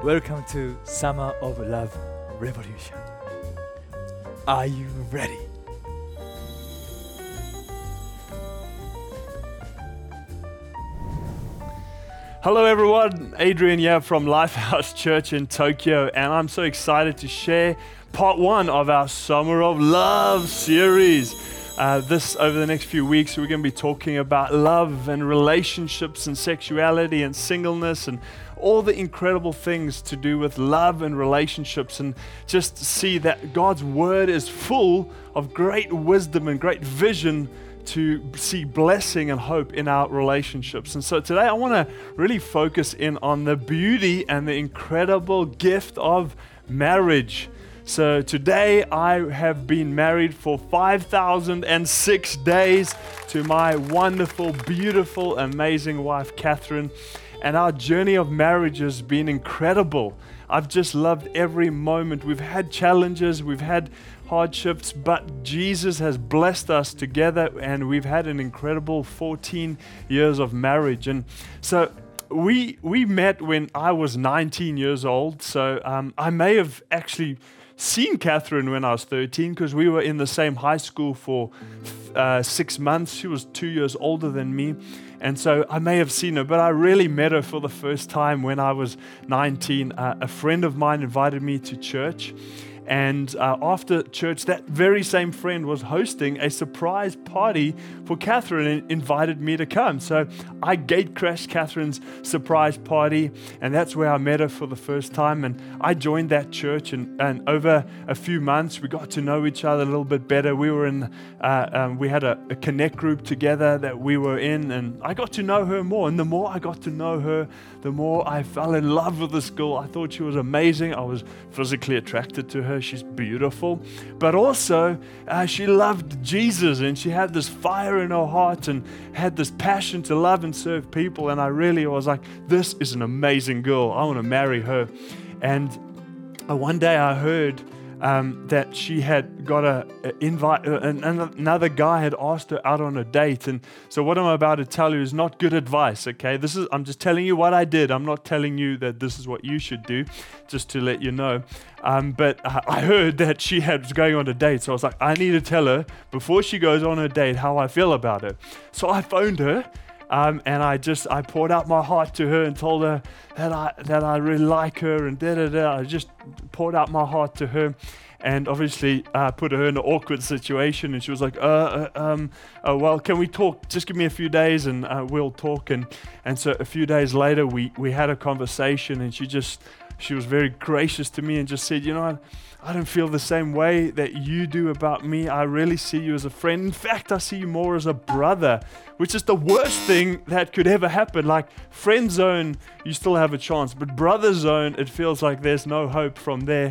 Welcome to Summer of Love Revolution. Are you ready? Hello everyone, Adrian here from Lifehouse Church in Tokyo, and I'm so excited to share part one of our Summer of Love series. Over the next few weeks, we're going to be talking about love and relationships and sexuality and singleness and all the incredible things to do with love and relationships, and just see that God's Word is full of great wisdom and great vision to see blessing and hope in our relationships. And so today I want to really focus in on the beauty and the incredible gift of marriage. So today I have been married for 5,006 days to my wonderful, beautiful, amazing wife, Catherine. And our journey of marriage has been incredible. I've just loved every moment. We've had challenges, we've had hardships, but Jesus has blessed us together, and we've had an incredible 14 years of marriage. And so we met when I was 19 years old. So I may have actually seen Catherine when I was 13, because we were in the same high school for 6 months. She was 2 years older than me. And so I may have seen her, but I really met her for the first time when I was 19. A friend of mine invited me to church. And after church, that very same friend was hosting a surprise party for Catherine and invited me to come. So I gate crashed Catherine's surprise party, and that's where I met her for the first time. And I joined that church, and over a few months, we got to know each other a little bit better. We were we had a connect group together that we were in, and I got to know her more. And the more I got to know her, the more I fell in love with this girl. I thought she was amazing. I was physically attracted to her. She's beautiful, but also she loved Jesus, and she had this fire in her heart and had this passion to love and serve people. And I really was like, this is an amazing girl. I want to marry her. And one day I heard that she had got an invite, another guy had asked her out on a date. And so what I'm about to tell you is not good advice, okay? I'm just telling you what I did. I'm not telling you that this is what you should do, just to let you know. But I heard that she was going on a date, so I was like, I need to tell her before she goes on her date how I feel about her. So I phoned her. And I poured out my heart to her and told her that I really like her, and I just poured out my heart to her, and obviously put her in an awkward situation. And she was like, well, can we talk? Just give me a few days and we'll talk. And so a few days later we had a conversation, and she was very gracious to me and just said, I don't feel the same way that you do about me. I really see you as a friend. In fact, I see you more as a brother, which is the worst thing that could ever happen. Like friend zone, you still have a chance, but brother zone, it feels like there's no hope from there.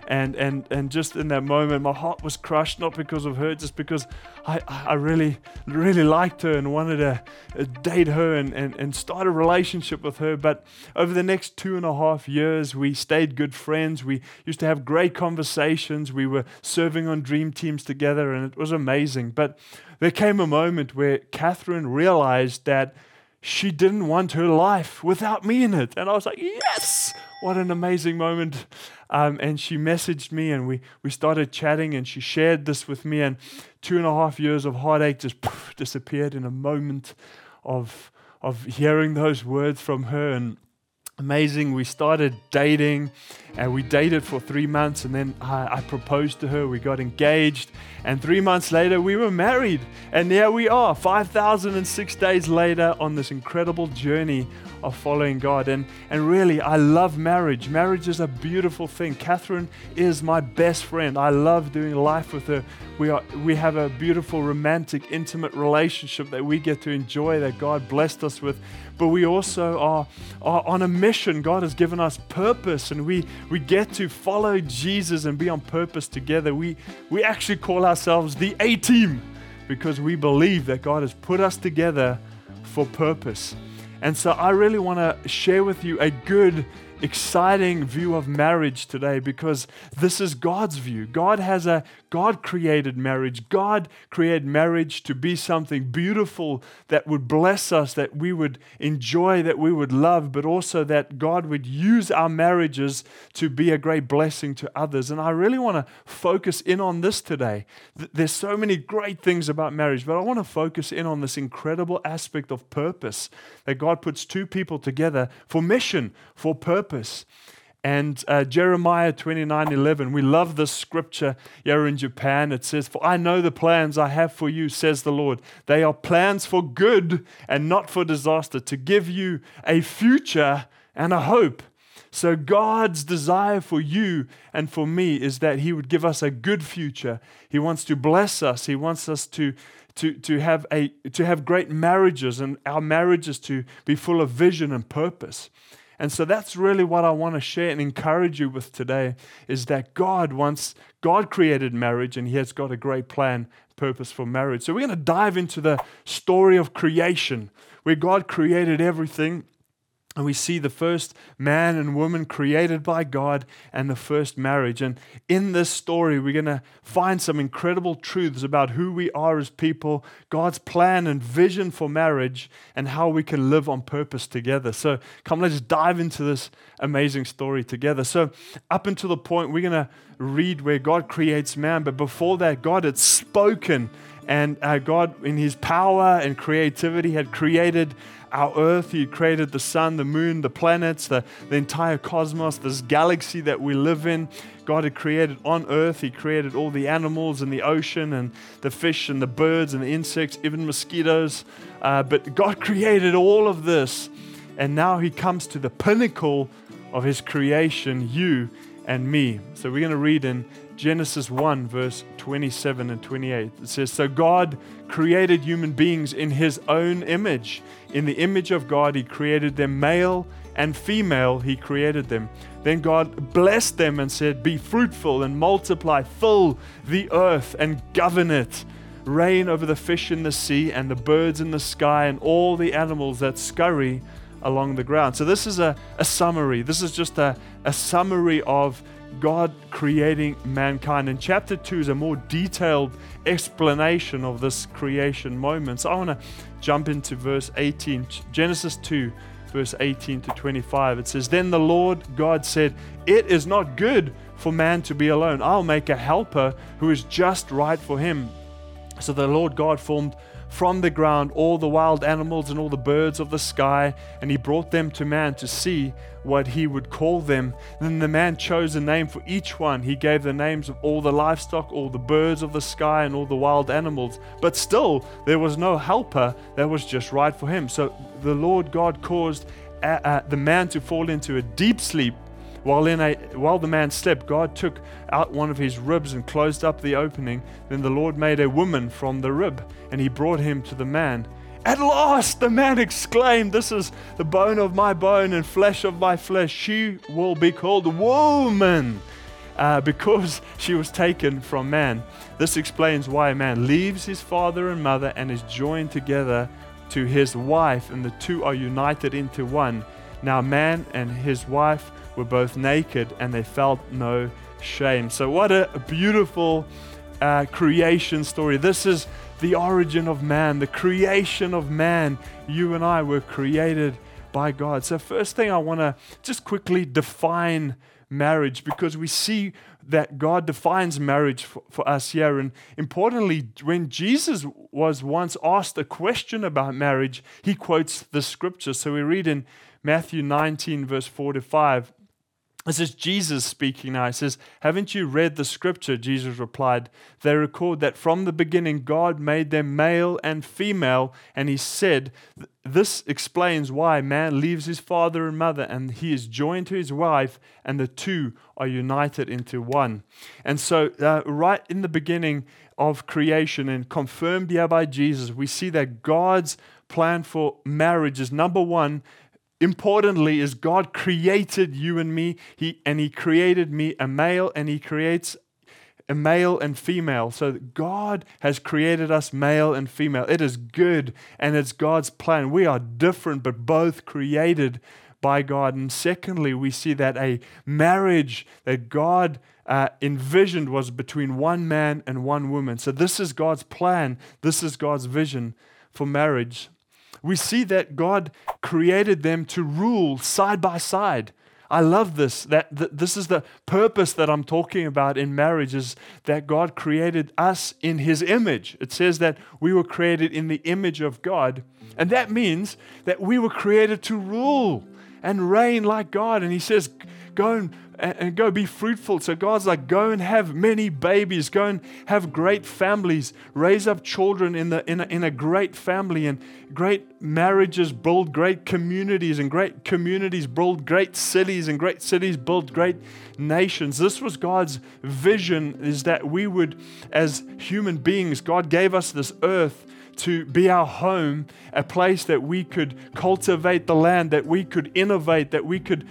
And just in that moment, my heart was crushed, not because of her, just because I really, really liked her and wanted to date her and start a relationship with her. But over the next 2.5 years, we stayed good friends. We used to have great conversations. We were serving on dream teams together, and it was amazing. But there came a moment where Catherine realized that she didn't want her life without me in it. And I was like, yes, what an amazing moment. And she messaged me, and we started chatting, and she shared this with me, and 2.5 years of heartache just disappeared in a moment of hearing those words from her. And amazing, we started dating, and we dated for 3 months, and then I proposed to her. We got engaged, and 3 months later we were married, and here we are 5,006 days later on this incredible journey of following God. And really, I love marriage. Marriage is a beautiful thing. Catherine is my best friend. I love doing life with her. We have a beautiful, romantic, intimate relationship that we get to enjoy, that God blessed us with. But we also are on a mission. God has given us purpose, and we get to follow Jesus and be on purpose together. We actually call ourselves the A-Team, because we believe that God has put us together for purpose. And so I really want to share with you a good, exciting view of marriage today, because this is God's view. God has a God created marriage. God created marriage to be something beautiful that would bless us, that we would enjoy, that we would love, but also that God would use our marriages to be a great blessing to others. And I really want to focus in on this today. There's so many great things about marriage, but I want to focus in on this incredible aspect of purpose, that God puts two people together for mission, for purpose. And Jeremiah 29:11, we love this scripture here in Japan. It says, "For I know the plans I have for you, says the Lord. They are plans for good and not for disaster, to give you a future and a hope." So God's desire for you and for me is that He would give us a good future. He wants to bless us. He wants us to have great marriages, and our marriages to be full of vision and purpose. And so that's really what I want to share and encourage you with today, is that God created marriage, and He has got a great plan, purpose for marriage. So we're going to dive into the story of creation, where God created everything. And we see the first man and woman created by God and the first marriage. And in this story, we're going to find some incredible truths about who we are as people, God's plan and vision for marriage, and how we can live on purpose together. So come, let's dive into this amazing story together. So up until the point, we're going to read where God creates man. But before that, God had spoken. And God, in His power and creativity, had created our earth. He created the sun, the moon, the planets, the entire cosmos, this galaxy that we live in. God had created on earth. He created all the animals in the ocean and the fish and the birds and the insects, even mosquitoes. But God created all of this. And now He comes to the pinnacle of His creation, you and me. So we're going to read in Genesis 1, verse 27 and 28. It says, "So God created human beings in His own image. In the image of God, He created them, male and female, He created them. Then God blessed them and said, 'Be fruitful and multiply, fill the earth and govern it. Reign over the fish in the sea and the birds in the sky and all the animals that scurry along the ground.'" So this is a summary. This is just a summary of God creating mankind. And chapter 2 is a more detailed explanation of this creation moment. So I want to jump into verse 18, Genesis 2, verse 18 to 25. It says, "Then the Lord God said, 'It is not good for man to be alone. I'll make a helper who is just right for him.' So the Lord God formed from the ground all the wild animals and all the birds of the sky, and He brought them to man to see what he would call them. Then the man chose a name for each one. He gave the names of all the livestock, all the birds of the sky, and all the wild animals. But still, there was no helper that was just right for him. So the Lord God caused the man to fall into a deep sleep. While the man slept, God took out one of his ribs and closed up the opening. Then the Lord made a woman from the rib, and He brought him to the man. At last, the man exclaimed, 'This is the bone of my bone and flesh of my flesh. She will be called woman, because she was taken from man.' This explains why a man leaves his father and mother and is joined together to his wife, and the two are united into one. Now man and his wife were both naked, and they felt no shame." So what a beautiful creation story. This is the origin of man, the creation of man. You and I were created by God. So first thing, I want to just quickly define marriage, because we see that God defines marriage for us here. And importantly, when Jesus was once asked a question about marriage, He quotes the scripture. So we read in Matthew 19, verse 4-5. This is Jesus speaking now. He says, "Haven't you read the scripture?" Jesus replied. "They record that from the beginning God made them male and female, and He said, this explains why man leaves his father and mother, and he is joined to his wife, and the two are united into one." And so right in the beginning of creation, and confirmed here by Jesus, we see that God's plan for marriage is, number one, importantly, is God created you and me. He created me a male, and He creates a male and female. So God has created us male and female. It is good, and it's God's plan. We are different, but both created by God. And secondly, we see that a marriage that God envisioned was between one man and one woman. So this is God's plan. This is God's vision for marriage. We see that God created them to rule side by side. I love this, that this is the purpose that I'm talking about in marriage, is that God created us in His image. It says that we were created in the image of God. And that means that we were created to rule and reign like God. And He says, go and go be fruitful. So God's like, go and have many babies, go and have great families, raise up children in a great family, and great marriages build great communities, and great communities build great cities, and great cities build great nations. This was God's vision, is that we would, as human beings, God gave us this earth to be our home, a place that we could cultivate the land, that we could innovate, that we could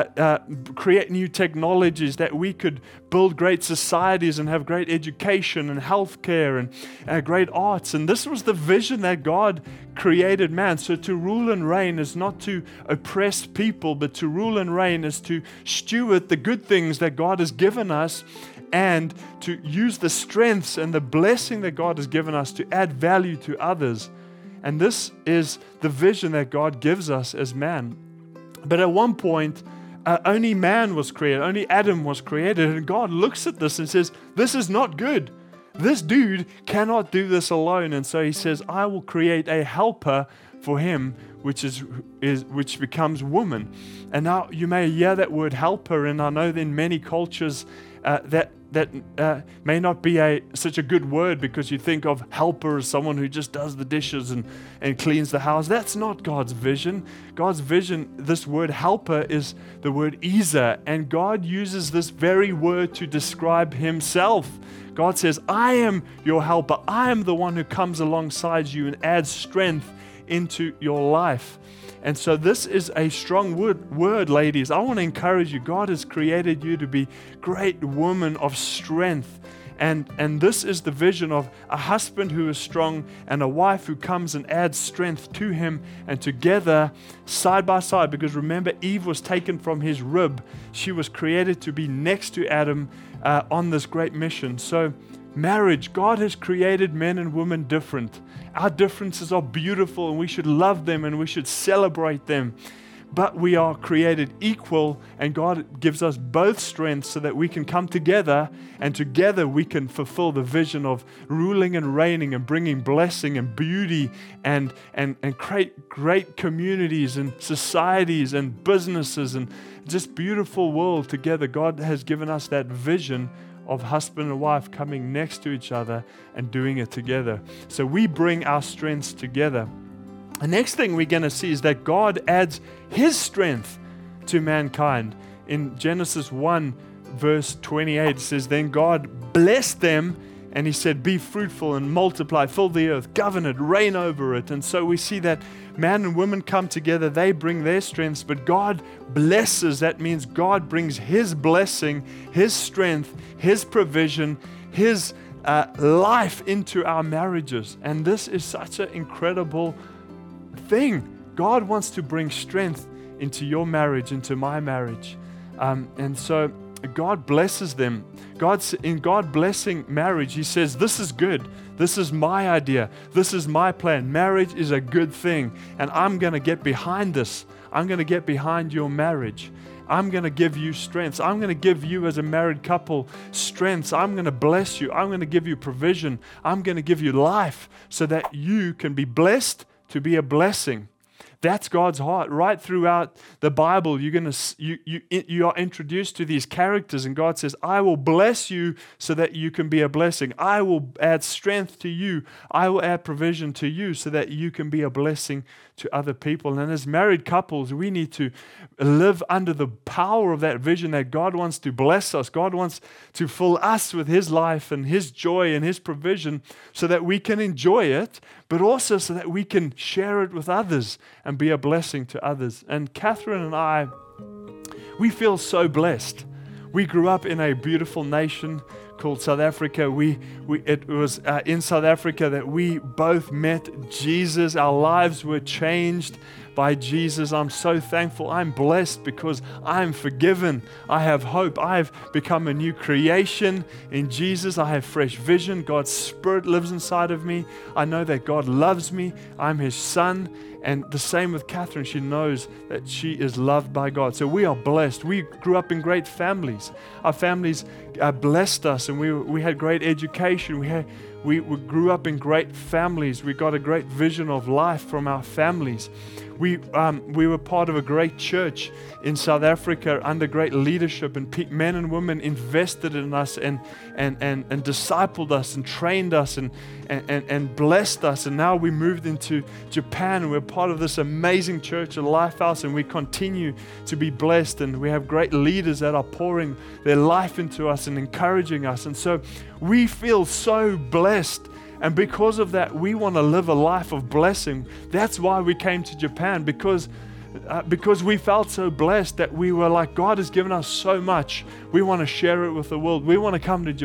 create new technologies, that we could build great societies and have great education and healthcare and great arts. And this was the vision that God created man. So to rule and reign is not to oppress people, but to rule and reign is to steward the good things that God has given us, and to use the strengths and the blessing that God has given us to add value to others. And this is the vision that God gives us as man. But at one point, only man was created, only Adam was created, and God looks at this and says, this is not good. This dude cannot do this alone. And so He says, I will create a helper for him, which becomes woman. And now you may hear that word helper, and I know in many cultures that may not be such a good word, because you think of helper as someone who just does the dishes and cleans the house. That's not God's vision. God's vision, this word helper, is the word Ezer, and God uses this very word to describe Himself. God says, I am your helper. I am the one who comes alongside you and adds strength into your life. And so this is a strong word, ladies. I want to encourage you. God has created you to be great women of strength. And this is the vision of a husband who is strong and a wife who comes and adds strength to him, and together, side by side, because remember, Eve was taken from his rib. She was created to be next to Adam on this great mission. So marriage, God has created men and women different. Our differences are beautiful, and we should love them and we should celebrate them. But we are created equal, and God gives us both strengths so that we can come together, and together we can fulfill the vision of ruling and reigning and bringing blessing and beauty and create great communities and societies and businesses and just beautiful world together. God has given us that vision of husband and wife coming next to each other and doing it together. So we bring our strengths together. The next thing we're going to see is that God adds His strength to mankind. In Genesis 1 verse 28, it says, then God blessed them, and He said, be fruitful and multiply, fill the earth, govern it, reign over it. And so we see that man and woman come together, they bring their strengths, but God blesses. That means God brings His blessing, His strength, His provision, His life into our marriages. And this is such an incredible thing. God wants to bring strength into your marriage, into my marriage. And so God blesses them. In God blessing marriage, He says, this is good. This is my idea. This is my plan. Marriage is a good thing. And I'm going to get behind this. I'm going to get behind your marriage. I'm going to give you strengths. I'm going to give you as a married couple strengths. I'm going to bless you. I'm going to give you provision. I'm going to give you life so that you can be blessed to be a blessing. That's God's heart. Right throughout the Bible, you are introduced to these characters, and God says, I will bless you so that you can be a blessing. I will add strength to you. I will add provision to you so that you can be a blessing to other people. And as married couples, we need to live under the power of that vision that God wants to bless us. God wants to fill us with His life and His joy and His provision so that we can enjoy it, but also so that we can share it with others and be a blessing to others. And Catherine and I, we feel so blessed. We grew up in a beautiful nation called South Africa. It was in South Africa that we both met Jesus. Our lives were changed by Jesus. I'm so thankful. I'm blessed because I'm forgiven. I have hope. I've become a new creation in Jesus. I have fresh vision. God's Spirit lives inside of me. I know that God loves me. I'm His son. And the same with Catherine. She knows that she is loved by God. So we are blessed. We grew up in great families. Our families blessed us, and we had great education. We grew up in great families. We got a great vision of life from our families. We were part of a great church in South Africa under great leadership, and men and women invested in us and discipled us and trained us and blessed us. And now we moved into Japan, and we're part of this amazing church at Lifehouse, and we continue to be blessed, and we have great leaders that are pouring their life into us and encouraging us. And so we feel so blessed. And because of that, we want to live a life of blessing. That's why we came to Japan, because we felt so blessed that we were like, God has given us so much. We want to share it with the world. We want to come to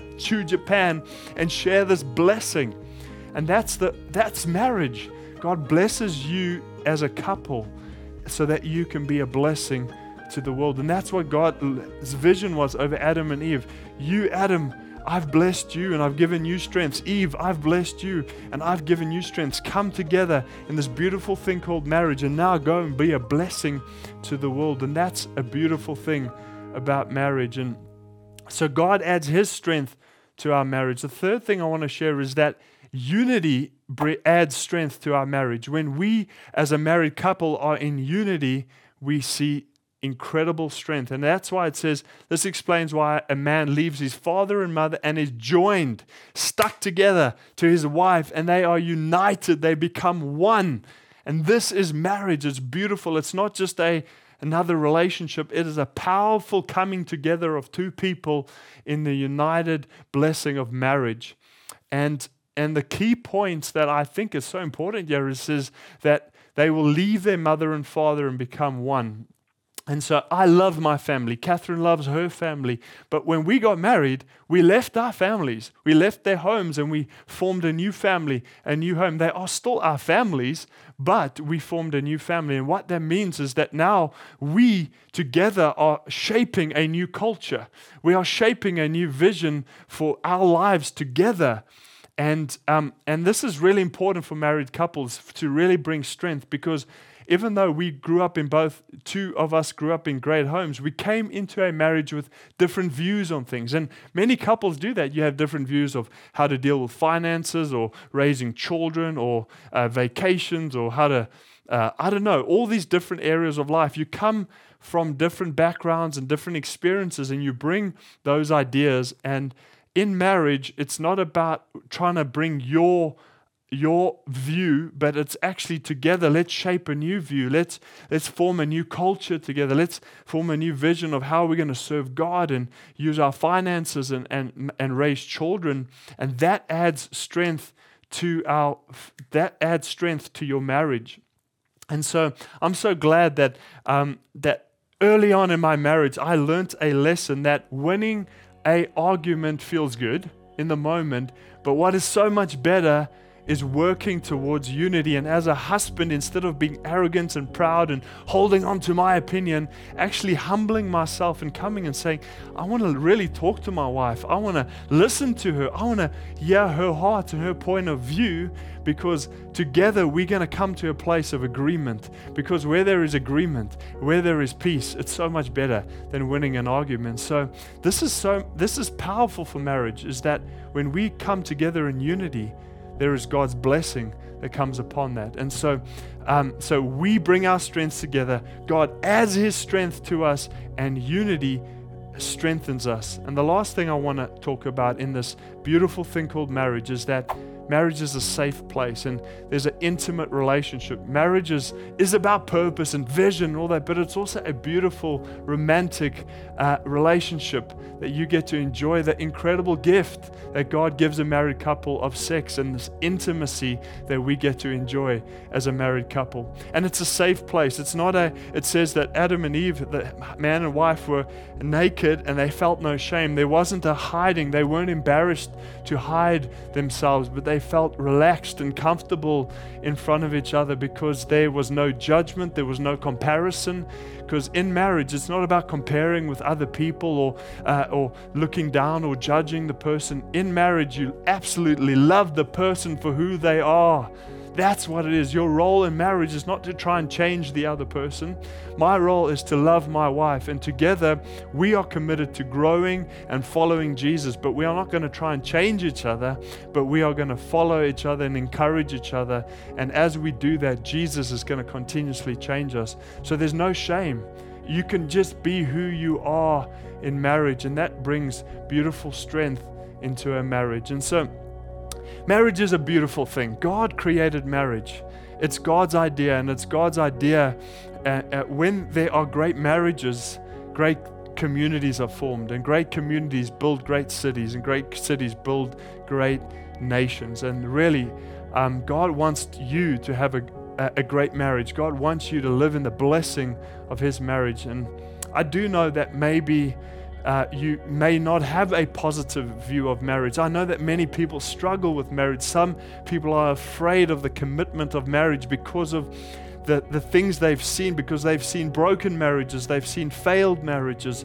Japan and share this blessing. And that's marriage. God blesses you as a couple so that you can be a blessing to the world. And that's what God's vision was over Adam and Eve. You, Adam, I've blessed you and I've given you strengths. Eve, I've blessed you and I've given you strengths. Come together in this beautiful thing called marriage, and now go and be a blessing to the world. And that's a beautiful thing about marriage. And so God adds His strength to our marriage. The third thing I want to share is that unity adds strength to our marriage. When we as a married couple are in unity, we see incredible strength. And that's why it says, this explains why a man leaves his father and mother and is joined, stuck together to his wife, and they are united. They become one. And this is marriage. It's beautiful. It's not just another relationship. It is a powerful coming together of two people in the united blessing of marriage. And the key points that I think is so important here is that they will leave their mother and father and become one. And so I love my family. Catherine loves her family. But when we got married, we left our families. We left their homes and we formed a new family, a new home. They are still our families, but we formed a new family. And what that means is that now we together are shaping a new culture. We are shaping a new vision for our lives together. And this is really important for married couples to really bring strength, because even though two of us grew up in great homes, we came into a marriage with different views on things. And many couples do that. You have different views of how to deal with finances or raising children or vacations or how to, all these different areas of life. You come from different backgrounds and different experiences, and you bring those ideas. And in marriage, it's not about trying to bring your view, but it's actually together. Let's shape a new view. Let's form a new culture together. Let's form a new vision of how we're going to serve God and use our finances and raise children. And that adds strength to your marriage. And so I'm so glad that that early on in my marriage, I learned a lesson that winning an argument feels good in the moment, but what is so much better is working towards unity. And as a husband, instead of being arrogant and proud and holding on to my opinion, actually humbling myself and coming and saying, I want to really talk to my wife. I want to listen to her. I want to hear her heart and her point of view, because together we're going to come to a place of agreement. Because where there is agreement, where there is peace, it's so much better than winning an argument. So this is powerful for marriage, is that when we come together in unity, there is God's blessing that comes upon that. And so we bring our strengths together. God adds His strength to us, and unity strengthens us. And the last thing I want to talk about in this beautiful thing called marriage is that marriage is a safe place, and there's an intimate relationship. Marriage is about purpose and vision and all that, but it's also a beautiful, romantic relationship that you get to enjoy, the incredible gift that God gives a married couple of sex, and this intimacy that we get to enjoy as a married couple. And it's a safe place. It says that Adam and Eve, the man and wife, were naked and they felt no shame. There wasn't a hiding. They weren't embarrassed to hide themselves, but they felt relaxed and comfortable in front of each other because there was no judgment, there was no comparison. Because in marriage, it's not about comparing with other people or looking down or judging the person. In marriage, you absolutely love the person for who they are. That's what it is. Your role in marriage is not to try and change the other person. My role is to love my wife, and together we are committed to growing and following Jesus. But we are not going to try and change each other, but we are going to follow each other and encourage each other. And as we do that, Jesus is going to continuously change us. So there's no shame. You can just be who you are in marriage, and that brings beautiful strength into a marriage. And so marriage is a beautiful thing. God created marriage. It's God's idea, and it's God's idea when there are great marriages, great communities are formed, and great communities build great cities, and great cities build great nations. And really, God wants you to have a great marriage. God wants you to live in the blessing of His marriage. And I do know that maybe you may not have a positive view of marriage. I know that many people struggle with marriage. Some people are afraid of the commitment of marriage because of the things they've seen, because they've seen broken marriages, they've seen failed marriages,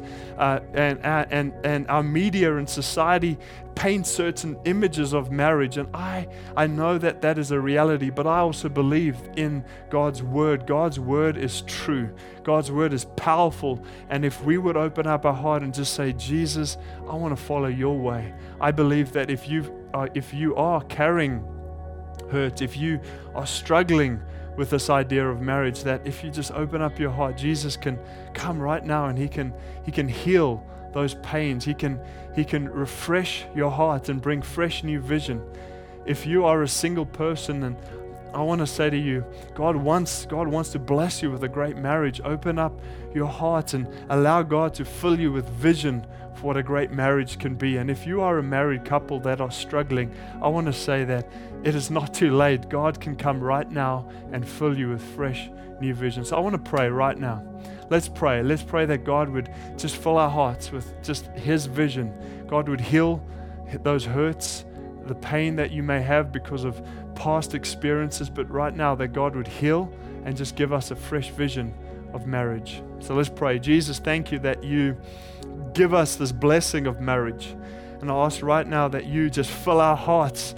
and our media and society paint certain images of marriage. And I know that that is a reality, but I also believe in God's Word. God's Word is true. God's Word is powerful. And if we would open up our heart and just say, Jesus, I want to follow your way. I believe that if you are carrying hurt, if you are struggling with this idea of marriage, that if you just open up your heart, Jesus can come right now, and He can heal those pains. He can refresh your heart and bring fresh new vision. If you are a single person, and I want to say to you, God wants to bless you with a great marriage. Open up your heart and allow God to fill you with vision for what a great marriage can be. And if you are a married couple that are struggling, I want to say that it is not too late. God can come right now and fill you with fresh new vision. So I want to pray right now. Let's pray. Let's pray that God would just fill our hearts with just His vision. God would heal those hurts, the pain that you may have because of past experiences, but right now that God would heal and just give us a fresh vision of marriage. So let's pray. Jesus, thank you that you give us this blessing of marriage. And I ask right now that you just fill our hearts,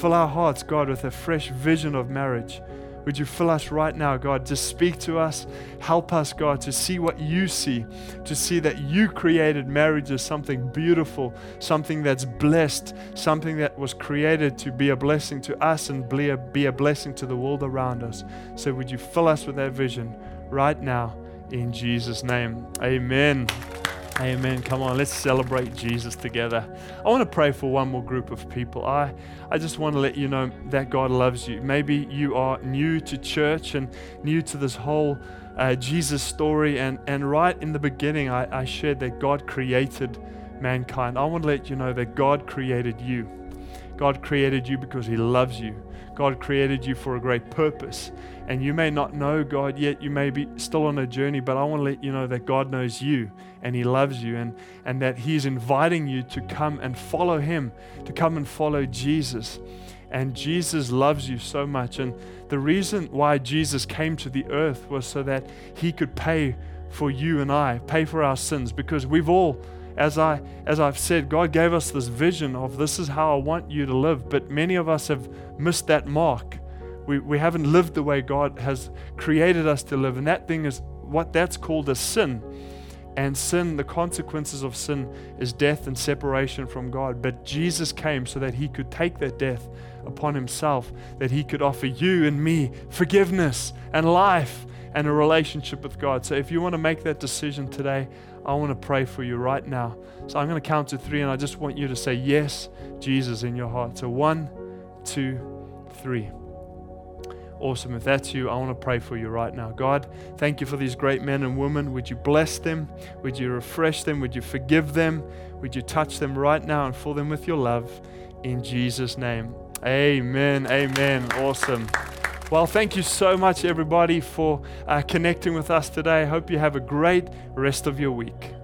God, with a fresh vision of marriage. Would you fill us right now, God? Just speak to us. Help us, God, to see what you see, to see that you created marriage as something beautiful, something that's blessed, something that was created to be a blessing to us and be a blessing to the world around us. So would you fill us with that vision right now in Jesus' name? Amen. Amen. Come on, let's celebrate Jesus together. I want to pray for one more group of people. I just want to let you know that God loves you. Maybe you are new to church and new to this whole Jesus story. And right in the beginning, I shared that God created mankind. I want to let you know that God created you. God created you because He loves you. God created you for a great purpose. And you may not know God yet. You may be still on a journey, but I want to let you know that God knows you and He loves you, and that He's inviting you to come and follow Him, to come and follow Jesus. And Jesus loves you so much. And the reason why Jesus came to the earth was so that He could pay for you and I, pay for our sins, because we've all, as I've said, God gave us this vision of this is how I want you to live, but many of us have missed that mark. We haven't lived the way God has created us to live, and that thing is what that's called a sin. And sin, the consequences of sin is death and separation from God. But Jesus came so that He could take that death upon Himself, that He could offer you and me forgiveness and life and a relationship with God. So if you want to make that decision today, I want to pray for you right now. So I'm going to count to 3, and I just want you to say yes, Jesus, in your heart. So 1, 2, 3. Awesome. If that's you, I want to pray for you right now. God, thank you for these great men and women. Would you bless them? Would you refresh them? Would you forgive them? Would you touch them right now and fill them with your love? In Jesus' name. Amen. Amen. Awesome. Well, thank you so much, everybody, for connecting with us today. I hope you have a great rest of your week.